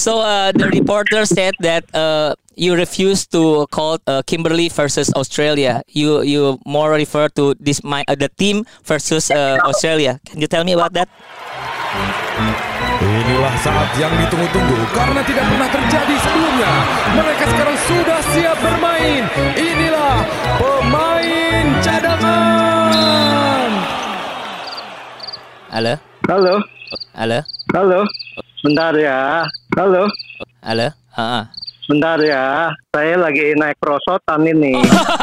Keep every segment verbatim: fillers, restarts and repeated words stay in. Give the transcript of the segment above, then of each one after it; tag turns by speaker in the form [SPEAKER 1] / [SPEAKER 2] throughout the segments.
[SPEAKER 1] So uh, the reporter said that uh, you refuse to call uh, Kimberly versus Australia. You you more refer to this my uh, the team versus uh, Australia. Can you tell me about that?
[SPEAKER 2] Inilah saat yang ditunggu-tunggu karena tidak pernah terjadi sebelumnya. Mereka sekarang sudah siap bermain. Inilah pemain cadangan.
[SPEAKER 1] Halo.
[SPEAKER 3] Halo.
[SPEAKER 1] Halo.
[SPEAKER 3] Halo. Bentar ya. Halo.
[SPEAKER 1] Halo. Uh-uh.
[SPEAKER 3] Bentar ya. Saya lagi naik perosotan ini.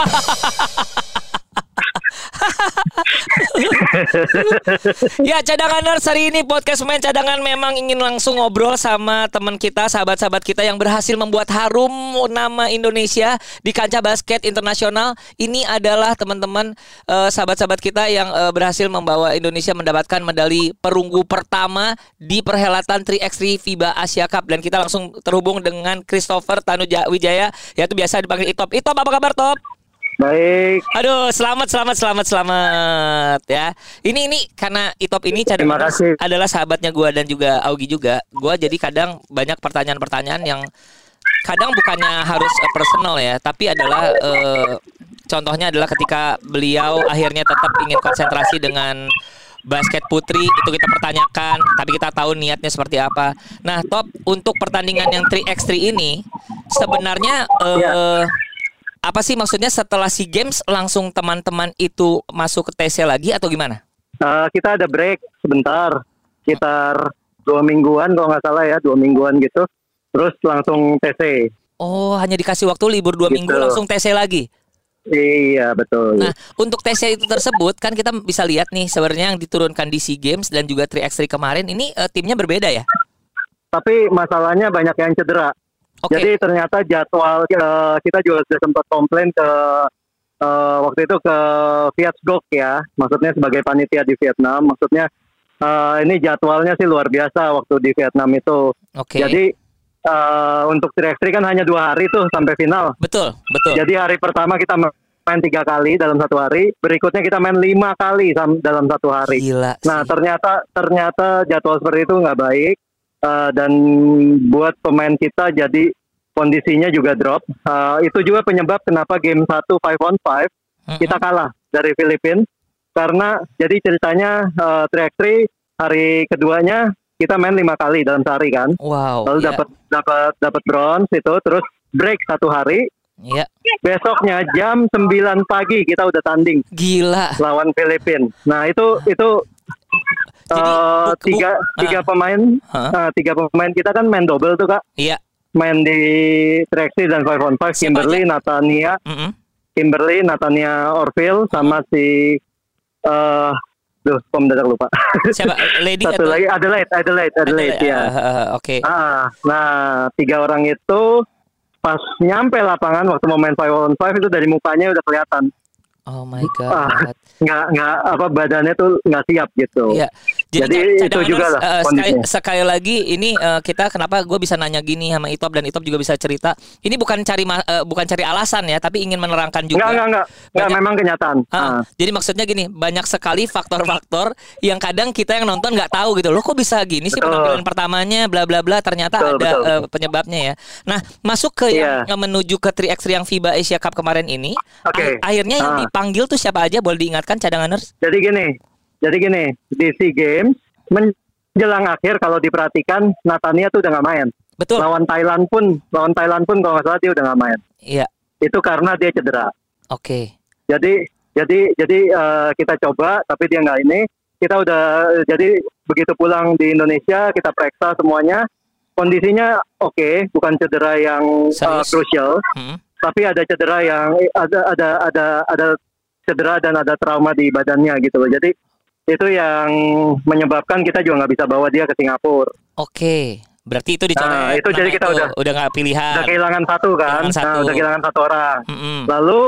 [SPEAKER 1] Ya, cadanganers, hari ini podcast Pemain Cadangan memang ingin langsung ngobrol sama teman kita, sahabat-sahabat kita yang berhasil membuat harum nama Indonesia di kancah basket internasional. Ini adalah teman-teman uh, sahabat-sahabat kita yang uh, berhasil membawa Indonesia mendapatkan medali perunggu pertama di perhelatan tiga by tiga FIBA Asia Cup. Dan kita langsung terhubung dengan Christopher Tanuwijaya, yaitu biasa dipanggil Itop. Itop, apa kabar, Top?
[SPEAKER 3] Baik.
[SPEAKER 1] Aduh, selamat, selamat, selamat, selamat ya. Ini ini karena Itop ini cadangan adalah sahabatnya gue dan juga Augie juga. Gue jadi kadang banyak pertanyaan-pertanyaan yang kadang bukannya harus uh, personal ya, tapi adalah uh, contohnya adalah ketika beliau akhirnya tetap ingin konsentrasi dengan basket putri, itu kita pertanyakan, tapi kita tahu niatnya seperti apa. Nah, Top, untuk pertandingan yang tiga by tiga ini sebenarnya uh, ya. Apa sih maksudnya setelah SEA Games langsung teman-teman itu masuk ke T C lagi atau gimana?
[SPEAKER 3] Uh, kita ada break sebentar, sekitar dua mingguan kalau nggak salah ya, dua mingguan gitu. Terus langsung T C.
[SPEAKER 1] Oh, hanya dikasih waktu libur dua gitu. Minggu langsung T C lagi?
[SPEAKER 3] Iya, betul.
[SPEAKER 1] Nah, untuk T C itu tersebut kan kita bisa lihat nih sebenarnya yang diturunkan di SEA Games dan juga tiga by tiga kemarin ini uh, timnya berbeda ya? Tapi masalahnya banyak yang cedera. Okay.
[SPEAKER 3] Jadi ternyata jadwal uh, kita juga sudah sempat komplain ke uh, waktu itu ke Vietgok ya, maksudnya sebagai panitia di Vietnam, maksudnya uh, ini jadwalnya sih luar biasa waktu di Vietnam itu. Okay. Jadi uh, untuk tiga by tiga kan hanya dua hari tuh sampai final.
[SPEAKER 1] Betul, betul.
[SPEAKER 3] Jadi hari pertama kita main tiga kali dalam satu hari, berikutnya kita main lima kali dalam satu hari.
[SPEAKER 1] Gila sih.
[SPEAKER 3] Nah ternyata ternyata jadwal seperti itu nggak baik. Uh, dan buat pemain kita jadi kondisinya juga drop. Uh, itu juga penyebab kenapa game satu five on five uh-huh. kita kalah dari Filipina. Karena jadi ceritanya uh, tiga by tiga hari keduanya kita main lima kali dalam sehari kan.
[SPEAKER 1] Wow.
[SPEAKER 3] Lalu dapat yeah. dapat dapat bronze itu, terus break satu hari.
[SPEAKER 1] Iya. Yeah.
[SPEAKER 3] Besoknya jam sembilan pagi kita udah tanding.
[SPEAKER 1] Gila.
[SPEAKER 3] Lawan Filipina. Nah itu itu Jadi, uh, bu, tiga bu, tiga uh, pemain uh, uh, tiga pemain kita kan main double tuh Kak.
[SPEAKER 1] Iya.
[SPEAKER 3] Main di tiga by tiga dan five on five. Kimberly, aja? Natania, mm-hmm. Kimberly, Natania Orville sama si uh, duh, kok mendadak lupa.
[SPEAKER 1] Siapa? Lady
[SPEAKER 3] Satu
[SPEAKER 1] atau?
[SPEAKER 3] lagi Adelaide, Adelaide, Adelaide, Adelaide ya.
[SPEAKER 1] Uh, uh, Oke. Okay.
[SPEAKER 3] Nah, nah, tiga orang itu pas nyampe lapangan waktu mau main five on five itu dari mukanya udah kelihatan.
[SPEAKER 1] Oh my god.
[SPEAKER 3] Ah, nggak nggak apa badannya tuh nggak siap gitu.
[SPEAKER 1] Iya. Jadi,
[SPEAKER 3] Jadi itu juga lah.
[SPEAKER 1] Uh, sekali, sekali lagi ini uh, kita kenapa gue bisa nanya gini sama Itop dan Itop juga bisa cerita. Ini bukan cari uh, bukan cari alasan ya, tapi ingin menerangkan juga.
[SPEAKER 3] Nggak nggak nggak. Nggak memang kenyataan.
[SPEAKER 1] Uh,
[SPEAKER 3] uh.
[SPEAKER 1] Jadi maksudnya gini, banyak sekali faktor-faktor yang kadang kita yang nonton nggak tahu gitu. Loh kok bisa gini sih penampilan pertamanya, bla bla bla. Ternyata betul, ada betul. Uh, penyebabnya ya. Nah masuk ke yeah. yang menuju ke tiga by tiga yang FIBA Asia Cup kemarin ini.
[SPEAKER 3] Okay.
[SPEAKER 1] Ah, akhirnya uh. yang dipanggil tuh siapa aja, boleh diingatkan cadanganers?
[SPEAKER 3] Jadi gini, jadi gini di SEA Games menjelang akhir kalau diperhatikan Natania tuh udah nggak main.
[SPEAKER 1] Betul.
[SPEAKER 3] Lawan Thailand pun, lawan Thailand pun kalau nggak salah dia udah nggak main.
[SPEAKER 1] Iya.
[SPEAKER 3] Itu karena dia cedera.
[SPEAKER 1] Oke. Okay.
[SPEAKER 3] Jadi jadi jadi uh, kita coba tapi dia nggak ini. Kita udah jadi begitu pulang di Indonesia kita periksa semuanya kondisinya oke, okay, bukan cedera yang uh, krusial. Hmm. Tapi ada cedera yang ada ada ada ada cedera dan ada trauma di badannya gitu loh. Jadi itu yang menyebabkan kita juga nggak bisa bawa dia ke Singapura.
[SPEAKER 1] Oke, berarti itu dicoret.
[SPEAKER 3] Nah, itu jadi kita itu, udah
[SPEAKER 1] udah nggak pilihan.
[SPEAKER 3] Udah kehilangan satu kan. Kehilangan satu. Nah, udah kehilangan satu orang.
[SPEAKER 1] Mm-hmm.
[SPEAKER 3] Lalu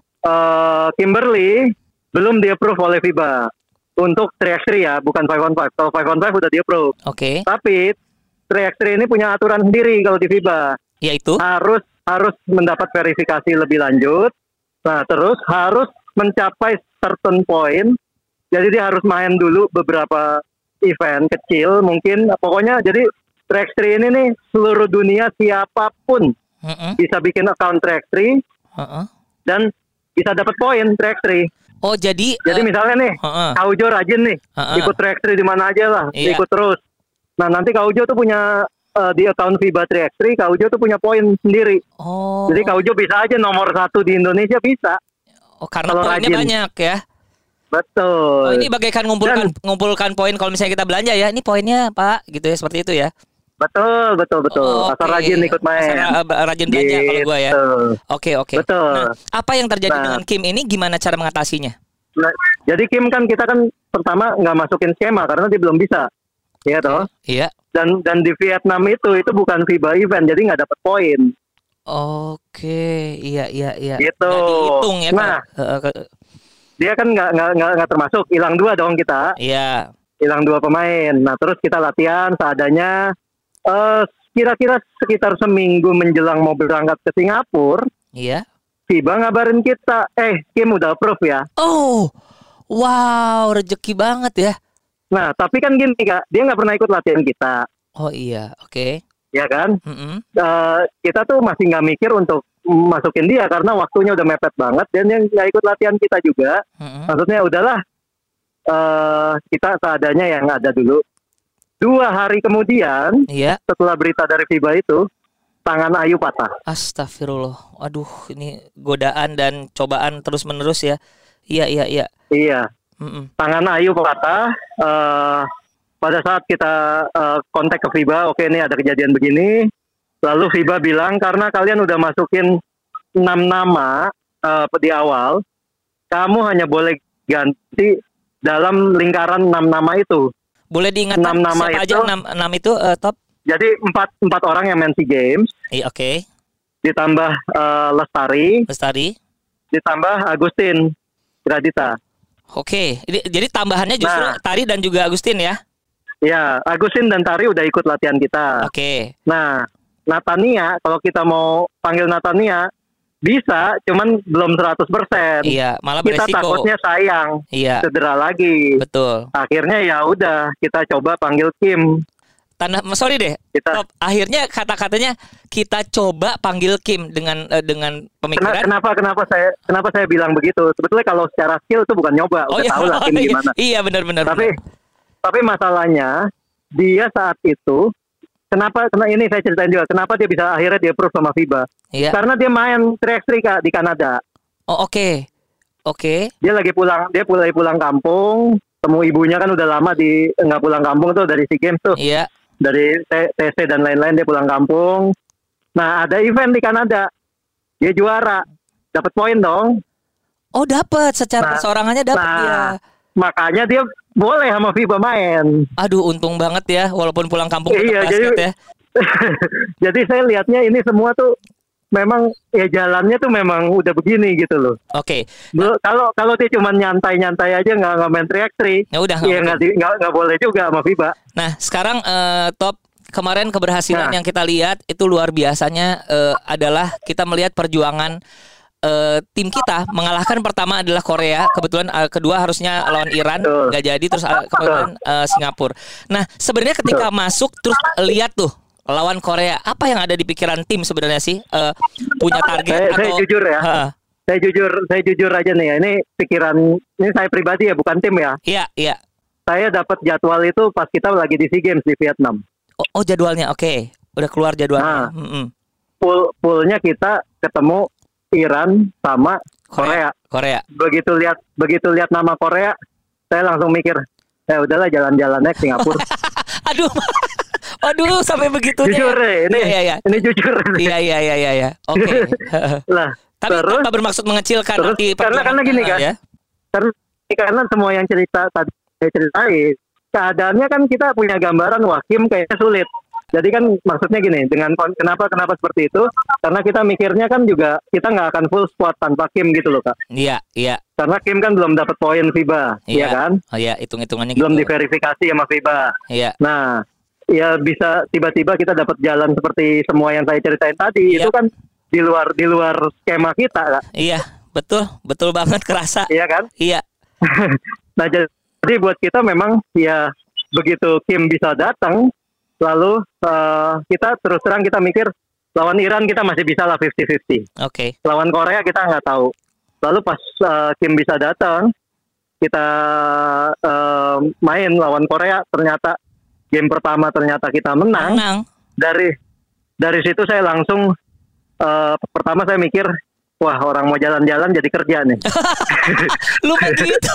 [SPEAKER 3] uh, Kimberly belum di-approve oleh FIBA untuk tiga by tiga ya, bukan five on five. Kalau five on five udah di-approve.
[SPEAKER 1] Oke. Okay.
[SPEAKER 3] Tapi tiga by tiga ini punya aturan sendiri kalau di FIBA.
[SPEAKER 1] Yaitu
[SPEAKER 3] harus harus mendapat verifikasi lebih lanjut. Nah, terus harus mencapai certain point. Jadi dia harus main dulu beberapa event kecil mungkin. Pokoknya jadi tiga x tiga ini nih seluruh dunia siapapun
[SPEAKER 1] uh-uh.
[SPEAKER 3] bisa bikin account tiga x tiga
[SPEAKER 1] uh-uh.
[SPEAKER 3] dan bisa dapat poin tiga x tiga.
[SPEAKER 1] Oh jadi
[SPEAKER 3] jadi uh, misalnya nih
[SPEAKER 1] uh-uh.
[SPEAKER 3] Kak Ujo rajin nih uh-uh. ikut tiga x tiga di mana aja lah, iya. ikut terus. Nah nanti Kak Ujo tuh punya uh, di account FIBA tiga x tiga, Kak Ujo tuh punya poin sendiri.
[SPEAKER 1] Oh.
[SPEAKER 3] Jadi Kak Ujo bisa aja nomor satu di Indonesia bisa.
[SPEAKER 1] Oh karena poinnya rajin. Banyak ya.
[SPEAKER 3] Betul.
[SPEAKER 1] Oh, ini bagaikan ngumpulkan Dan, ngumpulkan poin kalau misalnya kita belanja ya. Ini poinnya Pak, gitu ya, seperti itu ya.
[SPEAKER 3] Betul, betul, betul. Oh, asal okay. rajin ikut main.
[SPEAKER 1] Asal rajin belanja gitu. Kalau gue ya. Oke, oke.
[SPEAKER 3] Betul.
[SPEAKER 1] Nah, apa yang terjadi nah, dengan Kim ini? Gimana cara mengatasinya?
[SPEAKER 3] Nah, jadi Kim kan kita kan pertama nggak masukin skema karena dia belum bisa, ya toh.
[SPEAKER 1] Iya.
[SPEAKER 3] Dan dan di Vietnam itu itu bukan FIBA event, jadi nggak dapat poin.
[SPEAKER 1] Oke, iya, iya, iya.
[SPEAKER 3] Gitu.
[SPEAKER 1] Nggak dihitung ya.
[SPEAKER 3] Nah. Dia kan nggak nggak nggak termasuk, hilang dua dong kita.
[SPEAKER 1] Iya.
[SPEAKER 3] Hilang dua pemain. Nah terus kita latihan seadanya. Uh, kira-kira sekitar seminggu menjelang mau berangkat ke Singapura.
[SPEAKER 1] Iya.
[SPEAKER 3] FIBA ngabarin kita, eh Kim udah approve ya.
[SPEAKER 1] Oh, wow, rezeki banget ya.
[SPEAKER 3] Nah tapi kan gini Kak, dia nggak pernah ikut latihan kita.
[SPEAKER 1] Oh iya, oke. Okay.
[SPEAKER 3] Ya kan.
[SPEAKER 1] Mm-hmm.
[SPEAKER 3] Uh, kita tuh masih nggak mikir untuk masukin dia karena waktunya udah mepet banget dan yang nggak ikut latihan kita juga. Mm-hmm. Maksudnya udahlah uh, kita seadanya yang ada dulu. Dua hari kemudian,
[SPEAKER 1] iya.
[SPEAKER 3] setelah berita dari FIBA itu, tangan Ayu patah.
[SPEAKER 1] Astagfirullah, aduh ini godaan dan cobaan terus menerus ya. Iya iya iya.
[SPEAKER 3] Iya.
[SPEAKER 1] Mm-mm.
[SPEAKER 3] Tangan Ayu patah. Uh, pada saat kita uh, kontak ke FIBA, oke okay, ini ada kejadian begini. Lalu FIBA bilang karena kalian udah masukin enam nama uh, di awal, kamu hanya boleh ganti dalam lingkaran enam nama itu.
[SPEAKER 1] Boleh diingatkan enam nama siapa itu, aja enam, enam itu uh, top?
[SPEAKER 3] Jadi empat empat orang yang main SEA Games.
[SPEAKER 1] Iya, oke. Okay.
[SPEAKER 3] Ditambah uh, Lestari.
[SPEAKER 1] Lestari.
[SPEAKER 3] Ditambah Agustin Gradita.
[SPEAKER 1] Oke. Okay. Jadi tambahannya justru nah, Tari dan juga Agustin ya?
[SPEAKER 3] Iya, Agustin dan Tari udah ikut latihan kita.
[SPEAKER 1] Oke. Okay.
[SPEAKER 3] Nah, Natania kalau kita mau panggil Natania bisa, cuman belum seratus persen.
[SPEAKER 1] Iya, malah
[SPEAKER 3] kita
[SPEAKER 1] beresiko.
[SPEAKER 3] Takutnya sayang,
[SPEAKER 1] iya.
[SPEAKER 3] cedera lagi.
[SPEAKER 1] Betul.
[SPEAKER 3] Akhirnya ya udah, kita coba panggil Kim.
[SPEAKER 1] Tanda, sorry deh. Kita, Top, akhirnya kata-katanya kita coba panggil Kim dengan uh, dengan pemikiran.
[SPEAKER 3] Kenapa kenapa saya kenapa saya bilang begitu? Sebetulnya kalau secara skill itu bukan nyoba,
[SPEAKER 1] oh,
[SPEAKER 3] udah
[SPEAKER 1] iya,
[SPEAKER 3] tahu lah Kim
[SPEAKER 1] iya,
[SPEAKER 3] gimana.
[SPEAKER 1] Iya benar-benar.
[SPEAKER 3] Tapi
[SPEAKER 1] benar.
[SPEAKER 3] tapi masalahnya dia saat itu. Kenapa? Karena ini saya ceritain juga. Kenapa dia bisa akhirnya dia approve sama FIBA?
[SPEAKER 1] Iya.
[SPEAKER 3] Karena dia main tiga x tiga di Kanada.
[SPEAKER 1] Oh oke, okay. oke. Okay.
[SPEAKER 3] Dia lagi pulang, dia pulang pulang kampung. Temu ibunya kan udah lama di nggak pulang kampung tuh dari SEA Games tuh.
[SPEAKER 1] Iya.
[SPEAKER 3] Dari T C dan lain-lain dia pulang kampung. Nah ada event di Kanada, dia juara, dapat poin dong.
[SPEAKER 1] Oh dapat, secara nah, perseorangannya dapat nah, dia.
[SPEAKER 3] Makanya dia boleh sama FIBA main.
[SPEAKER 1] Aduh untung banget ya, walaupun pulang kampung
[SPEAKER 3] iya,
[SPEAKER 1] basket
[SPEAKER 3] jadi,
[SPEAKER 1] ya.
[SPEAKER 3] Jadi saya lihatnya ini semua tuh memang ya jalannya tuh memang udah begini gitu loh.
[SPEAKER 1] Oke. Okay.
[SPEAKER 3] Nah, kalau kalau dia cuma nyantai-nyantai aja nggak nggak main tiga x tiga.
[SPEAKER 1] Ya udah.
[SPEAKER 3] Ya nggak nggak nggak boleh juga sama FIBA.
[SPEAKER 1] Nah sekarang uh, Top kemarin keberhasilan nah. yang kita lihat itu luar biasanya uh, adalah kita melihat perjuangan Uh, tim kita mengalahkan pertama adalah Korea, kebetulan uh, kedua harusnya lawan Iran, nggak jadi, terus uh, kebetulan uh, Singapura. Nah sebenarnya ketika Betul. masuk terus lihat tuh lawan Korea, apa yang ada di pikiran tim sebenarnya sih? Uh, punya target
[SPEAKER 3] saya,
[SPEAKER 1] atau?
[SPEAKER 3] Saya jujur ya, uh, saya jujur, saya jujur aja nih ya. Ini pikiran, ini saya pribadi ya, bukan tim ya.
[SPEAKER 1] Iya iya.
[SPEAKER 3] Saya dapat jadwal itu pas kita lagi di SEA Games di Vietnam.
[SPEAKER 1] Oh, oh jadwalnya, oke, okay. Udah keluar jadwalnya.
[SPEAKER 3] Nah, mm-hmm. pool poolnya kita ketemu Iran sama Korea.
[SPEAKER 1] Korea.
[SPEAKER 3] Begitu lihat begitu lihat nama Korea, saya langsung mikir, ya udahlah jalan-jalan naik Singapura.
[SPEAKER 1] Aduh. Aduh sampai begitunya.
[SPEAKER 3] Jujur ya, ini
[SPEAKER 1] iya, iya.
[SPEAKER 3] ini jujur.
[SPEAKER 1] Iya iya iya iya iya. Oke. Okay.
[SPEAKER 3] Lah,
[SPEAKER 1] tapi
[SPEAKER 3] terus,
[SPEAKER 1] tanpa bermaksud mengecilkan
[SPEAKER 3] terus,
[SPEAKER 1] nanti
[SPEAKER 3] karena karena gini kan. Ya? Karena karena semua yang cerita tadi saya ceritain, keadaannya kan kita punya gambaran wah Kim kayaknya sulit. Jadi kan maksudnya gini, dengan kenapa kenapa seperti itu? Karena kita mikirnya kan juga kita nggak akan full squad tanpa Kim gitu loh Kak.
[SPEAKER 1] Iya iya.
[SPEAKER 3] Karena Kim kan belum dapat poin FIBA, iya ya kan?
[SPEAKER 1] Oh iya, hitung-hitungannya
[SPEAKER 3] belum
[SPEAKER 1] gitu.
[SPEAKER 3] diverifikasi sama FIBA.
[SPEAKER 1] Iya.
[SPEAKER 3] Nah, ya bisa tiba-tiba kita dapat jalan seperti semua yang saya ceritain tadi. Iya. Itu kan di luar di luar skema kita Kak.
[SPEAKER 1] Iya, betul, betul banget kerasa.
[SPEAKER 3] Iya kan?
[SPEAKER 1] Iya.
[SPEAKER 3] Nah jadi buat kita memang ya begitu Kim bisa datang. lalu uh, kita terus terang kita mikir lawan Iran kita masih bisa lah fifty fifty.
[SPEAKER 1] Oke. Okay.
[SPEAKER 3] Lawan Korea kita nggak tahu. Lalu pas uh, Kim bisa datang, kita uh, main lawan Korea, ternyata game pertama ternyata kita menang.
[SPEAKER 1] Menang. Dari
[SPEAKER 3] dari situ saya langsung uh, pertama saya mikir, wah orang mau jalan-jalan jadi kerja nih.
[SPEAKER 1] Lupa gitu.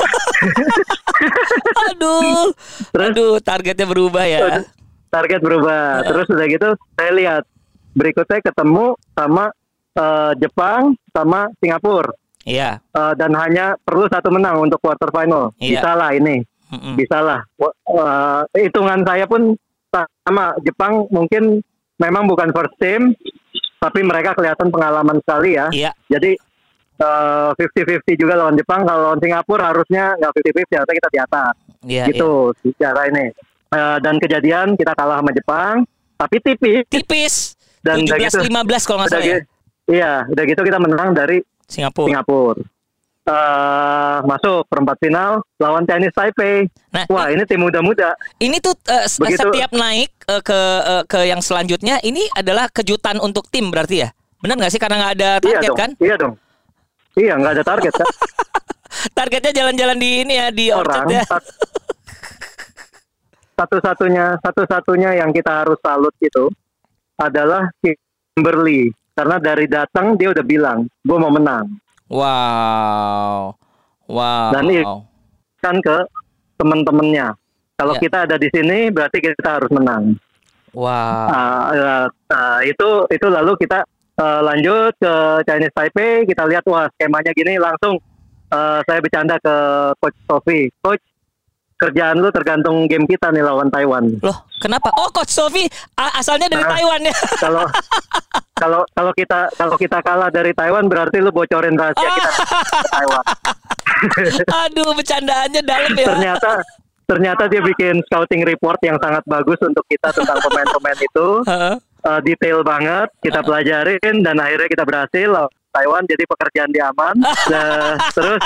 [SPEAKER 1] Aduh. Terus, Aduh, targetnya berubah ya.
[SPEAKER 3] Target berubah. Uh. Terus udah gitu saya lihat berikutnya ketemu sama uh, Jepang sama Singapura.
[SPEAKER 1] Iya.
[SPEAKER 3] Uh, dan hanya perlu satu menang untuk quarter final. Iya. Bisa lah ini. Mm-mm. Bisa lah. Uh, hitungan saya pun sama Jepang mungkin memang bukan first team, tapi mereka kelihatan pengalaman sekali ya.
[SPEAKER 1] Iya.
[SPEAKER 3] Jadi uh, fifty fifty juga lawan Jepang. Kalau lawan Singapura harusnya nggak fifty fifty, harusnya kita di atas. Iya, gitu iya. Secara ini. Uh, dan kejadian kita kalah sama Jepang, tapi tipis.
[SPEAKER 1] Tipis.
[SPEAKER 3] Dan
[SPEAKER 1] tujuh belas lima belas kalau nggak salah ya.
[SPEAKER 3] Iya, udah gitu kita menang dari
[SPEAKER 1] Singapura.
[SPEAKER 3] Singapura. Uh, masuk perempat final lawan Chinese Taipei. Nah, wah ini tim muda-muda.
[SPEAKER 1] Ini tuh uh, setiap naik uh, ke uh, ke yang selanjutnya ini adalah kejutan untuk tim berarti ya? Benar nggak sih karena nggak ada target
[SPEAKER 3] iya dong,
[SPEAKER 1] kan?
[SPEAKER 3] Iya dong. Iya nggak ada target kan?
[SPEAKER 1] Targetnya jalan-jalan di ini ya di
[SPEAKER 3] orang.
[SPEAKER 1] Ya.
[SPEAKER 3] Satu-satunya satu-satunya yang kita harus salut itu adalah Kimberly, karena dari datang dia udah bilang gue mau menang.
[SPEAKER 1] Wow, wow.
[SPEAKER 3] Dan kan ke teman-temannya. Kalau yeah. kita ada di sini berarti kita harus menang.
[SPEAKER 1] Wow.
[SPEAKER 3] Uh, uh, uh, itu itu lalu kita uh, lanjut ke Chinese Taipei. Kita lihat wah skemanya gini, langsung uh, saya bercanda ke Coach Sofi. Coach, kerjaan lu tergantung game kita nih lawan Taiwan.
[SPEAKER 1] Loh, kenapa? Oh, Coach Sofi asalnya dari nah, Taiwan ya.
[SPEAKER 3] Kalau kalau kalau kita kalau kita kalah dari Taiwan berarti lu bocorin rahasia kita ke Taiwan.
[SPEAKER 1] Aduh, bercandaannya dalam ya.
[SPEAKER 3] Ternyata ternyata dia bikin scouting report yang sangat bagus untuk kita tentang pemain-pemain itu. Uh, detail banget, kita pelajarin dan akhirnya kita berhasil lawan Taiwan, jadi pekerjaan dia aman. Nah, terus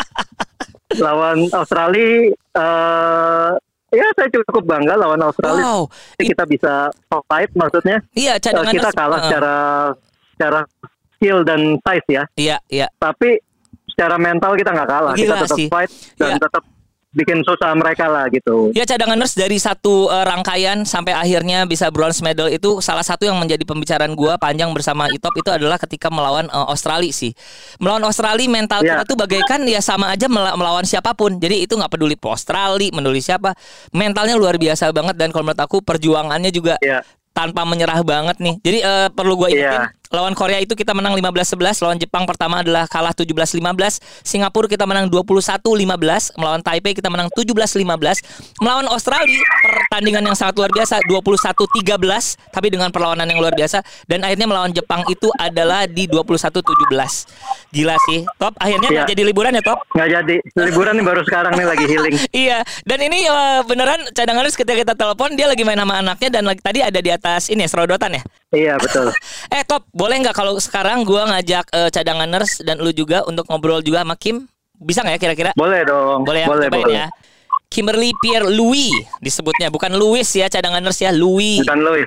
[SPEAKER 3] lawan Australia, uh, ya saya cukup bangga lawan Australia. Wow. Kita bisa fight, maksudnya.
[SPEAKER 1] Iya,
[SPEAKER 3] uh, kita kalah uh. secara secara skill dan size ya.
[SPEAKER 1] Iya, iya.
[SPEAKER 3] Tapi secara mental kita nggak kalah.
[SPEAKER 1] Gila
[SPEAKER 3] kita tetap
[SPEAKER 1] sih.
[SPEAKER 3] fight dan
[SPEAKER 1] ya.
[SPEAKER 3] tetap bikin susah mereka lah gitu.
[SPEAKER 1] Ya, cadanganers dari satu uh, rangkaian sampai akhirnya bisa bronze medal itu salah satu yang menjadi pembicaraan gua panjang bersama Itop itu adalah ketika melawan uh, Australia sih. Melawan Australia mental yeah. kita tuh bagaikan ya sama aja mel- melawan siapapun. Jadi itu nggak peduli Australia, peduli siapa. Mentalnya luar biasa banget dan kalau menurut aku perjuangannya juga yeah. tanpa menyerah banget nih. Jadi uh, perlu gua ingetin yeah. lawan Korea itu kita menang lima belas sebelas, lawan Jepang pertama adalah kalah tujuh belas lima belas, Singapura kita menang dua puluh satu lima belas, melawan Taipei kita menang tujuh belas lima belas, melawan Australia pertandingan yang sangat luar biasa dua puluh satu tiga belas tapi dengan perlawanan yang luar biasa, dan akhirnya melawan Jepang itu adalah di dua puluh satu tujuh belas. Gila sih, Top. Akhirnya nggak ya. jadi liburan ya, Top?
[SPEAKER 3] Nggak jadi. Liburan nih baru sekarang nih lagi healing.
[SPEAKER 1] Iya, dan ini uh, beneran cadanganers ketika kita telepon dia lagi main sama anaknya dan lagi, tadi ada di atas ini ya, serodotan ya?
[SPEAKER 3] Iya, betul.
[SPEAKER 1] eh, Top, boleh nggak kalau sekarang gue ngajak uh, cadanganers dan lu juga untuk ngobrol juga sama Kim? Bisa nggak ya kira-kira?
[SPEAKER 3] Boleh dong.
[SPEAKER 1] Boleh ya,
[SPEAKER 3] boleh, boleh.
[SPEAKER 1] ya. Kimberly Pierre Louis disebutnya, bukan Louis ya cadanganers ya, Louis.
[SPEAKER 3] Bukan Louis.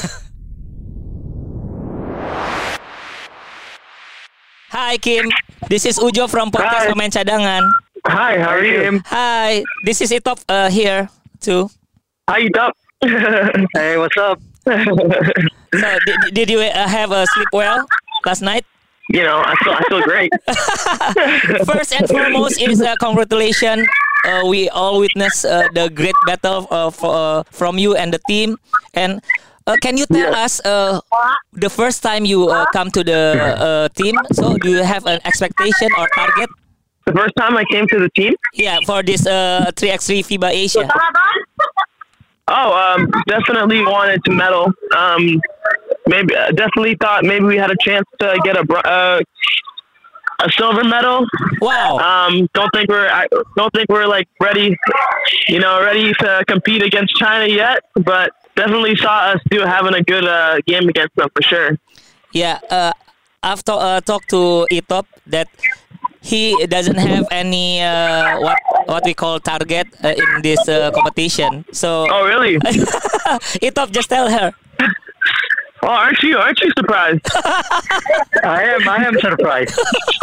[SPEAKER 1] Hi Kim, this is Ujo from podcast Pemain Cadangan.
[SPEAKER 3] Hi, how are you?
[SPEAKER 1] Hi, this is Itop uh, here too.
[SPEAKER 3] Hi Itop. Hey, what's up?
[SPEAKER 1] So, did, did you uh, have a sleep well last night?
[SPEAKER 3] You know, I feel I feel great.
[SPEAKER 1] First and foremost is uh, congratulations. Uh, we all witness uh, the great battle of, uh, from you and the team. And uh, can you tell yeah. us uh, the first time you uh, come to the uh, team? So, do you have an expectation or target?
[SPEAKER 3] The first time I came to the team?
[SPEAKER 1] Yeah, for this uh, three by three FIBA Asia.
[SPEAKER 3] Oh, um, definitely wanted to medal. Um, maybe uh, definitely thought maybe we had a chance to get a uh, a silver medal.
[SPEAKER 1] Wow.
[SPEAKER 3] Um, don't think we're I don't think we're like ready, you know, ready to compete against China yet. But definitely saw us do having a good uh, game against them for sure.
[SPEAKER 1] Yeah. Uh, I've to, uh, talked to Itop that he doesn't have any uh, what what we call target uh, in this uh, competition. So
[SPEAKER 4] oh really?
[SPEAKER 1] Itop, just tell her.
[SPEAKER 4] Oh, aren't you? Aren't you surprised?
[SPEAKER 3] I am. I am surprised.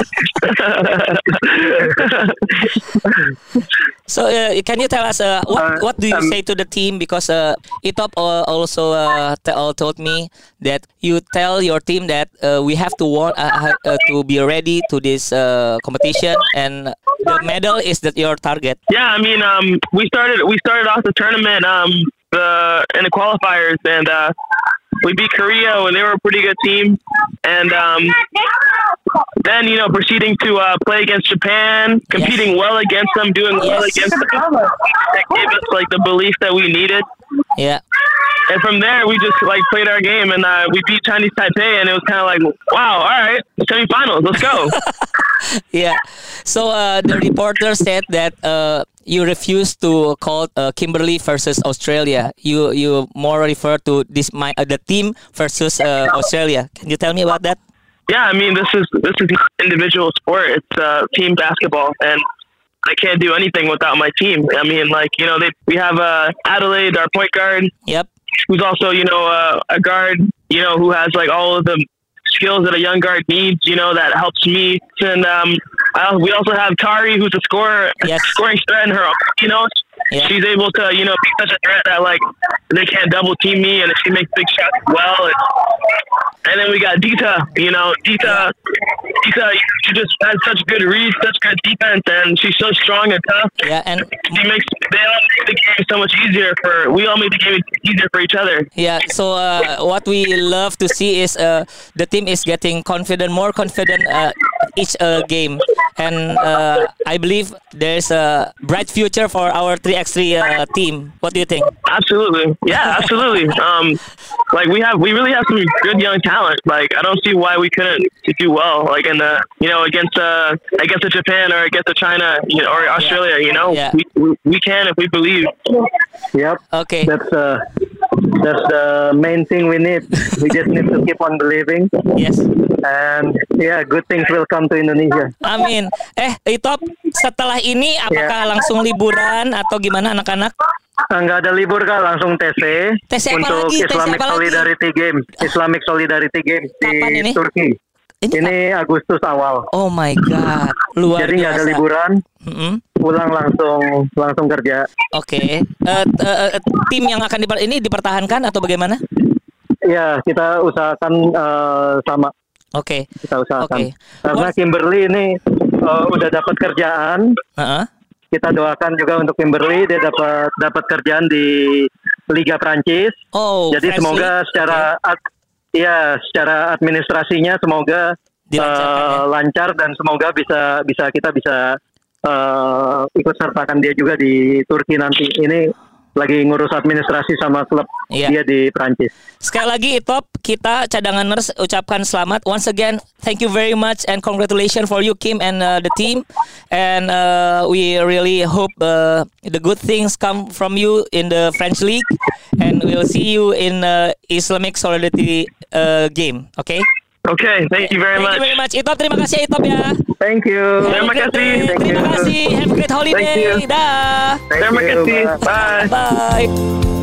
[SPEAKER 1] So, uh, can you tell us uh, what
[SPEAKER 3] Uh,
[SPEAKER 1] what do you
[SPEAKER 3] um,
[SPEAKER 1] say to the team? Because uh, Itop uh, also uh, t- uh, told me that you tell your team that uh, we have to want uh, uh, to be ready to this uh, competition, and the medal is that your target.
[SPEAKER 4] Yeah, I mean, um, we started we started off the tournament um, the in the qualifiers, and uh, we beat Korea, and they were a pretty good team. And um, then, you know, proceeding to uh, play against Japan, competing yes. well against them, doing well
[SPEAKER 1] yes.
[SPEAKER 4] against them, that gave us like the belief that we needed.
[SPEAKER 1] Yeah.
[SPEAKER 4] And from there, we just like played our game, and uh, we beat Chinese Taipei, and it was kind of like, wow, all right, semifinals, let's go.
[SPEAKER 1] Yeah. So uh, the reporter said that uh, you refused to call uh, Kimberly versus Australia. You you more refer to this my uh, the team versus uh, Australia. Can you tell me about that?
[SPEAKER 4] Yeah, I mean, this is this is not an individual sport. It's uh, team basketball, and I can't do anything without my team. I mean, like, you know, they we have uh, Adelaide, our point guard.
[SPEAKER 1] Yep.
[SPEAKER 4] Who's also, you know, uh, a guard, you know, who has like all of the skills that a young guard needs, you know, that helps me. And um, I, we also have Kari, who's a scorer,
[SPEAKER 1] yes.
[SPEAKER 4] scoring threat in her own, you know.
[SPEAKER 1] Yeah.
[SPEAKER 4] She's able to, you know, be such a threat that, like, they can't double team me, and she makes big shots well. And, and then we got Dita, you know, Dita, Dita, she just has such good reads, such good defense, and she's so strong and tough.
[SPEAKER 1] Yeah, and
[SPEAKER 4] she makes, they all make the game so much easier for, we all make the game easier for each other.
[SPEAKER 1] Yeah, so uh, what we love to see is uh, the team is getting confident, more confident uh, each uh, game. And uh, I believe there's a bright future for our three by three uh, team. What do you think?
[SPEAKER 4] Absolutely. Yeah, absolutely. um, like we have, we really have some good young talent. Like, I don't see why we couldn't do well, like in the, you know, against uh, against the Japan or against the China, you know, or Australia,
[SPEAKER 1] yeah.
[SPEAKER 4] you know,
[SPEAKER 1] yeah.
[SPEAKER 4] we, we we can if we believe.
[SPEAKER 3] Yep.
[SPEAKER 1] Okay.
[SPEAKER 3] That's uh, that's the main thing we need. We just need to keep on believing.
[SPEAKER 1] Yes.
[SPEAKER 3] And yeah, good things will come to Indonesia.
[SPEAKER 1] Amin. Eh, Itop, setelah ini apakah yeah. langsung liburan atau gimana anak-anak?
[SPEAKER 3] Enggak ada libur Kak, langsung T C,
[SPEAKER 1] T C
[SPEAKER 3] untuk
[SPEAKER 1] lagi?
[SPEAKER 3] Islamic Solidarity Games, Islamic Solidarity Games
[SPEAKER 1] Kapan
[SPEAKER 3] di
[SPEAKER 1] ini?
[SPEAKER 3] Turki. Ini, ini Agustus awal.
[SPEAKER 1] Oh my god, luar
[SPEAKER 3] Jadi nggak
[SPEAKER 1] biasa.
[SPEAKER 3] ada liburan,
[SPEAKER 1] mm-hmm.
[SPEAKER 3] pulang langsung langsung kerja.
[SPEAKER 1] Oke, okay. uh, uh, uh, tim yang akan diper- ini dipertahankan atau bagaimana?
[SPEAKER 3] Ya, kita usahakan uh, sama.
[SPEAKER 1] Oke.
[SPEAKER 3] Okay. Kita usahakan.
[SPEAKER 1] Okay.
[SPEAKER 3] Karena Kimberly ini uh, udah dapat kerjaan.
[SPEAKER 1] Uh-huh.
[SPEAKER 3] Kita doakan juga untuk Kimberly, dia dapat dapat kerjaan di Liga Prancis.
[SPEAKER 1] Oh.
[SPEAKER 3] Jadi
[SPEAKER 1] French
[SPEAKER 3] semoga
[SPEAKER 1] League?
[SPEAKER 3] secara
[SPEAKER 1] okay.
[SPEAKER 3] ad, ya secara administrasinya semoga uh, ya? lancar dan semoga bisa bisa kita bisa uh, ikut sertakan dia juga di Turki nanti. Ini lagi ngurus administrasi sama klub yeah. dia di Prancis.
[SPEAKER 1] Sekali lagi Itop, kita cadanganers ucapkan selamat. Once again, thank you very much and congratulations for you Kim and uh, the team. And uh, we really hope uh, the good things come from you in the French League. And we'll see you in uh, Islamic Solidarity uh, game. Okay?
[SPEAKER 4] Okay, thank you very
[SPEAKER 1] thank
[SPEAKER 4] much.
[SPEAKER 1] Thank you very much. Itop, terima kasih Itop ya.
[SPEAKER 3] Thank you.
[SPEAKER 4] Terima kasih.
[SPEAKER 1] Terima kasih. Have a great holiday. Dah.
[SPEAKER 4] Terima kasih. Bye.
[SPEAKER 1] Bye.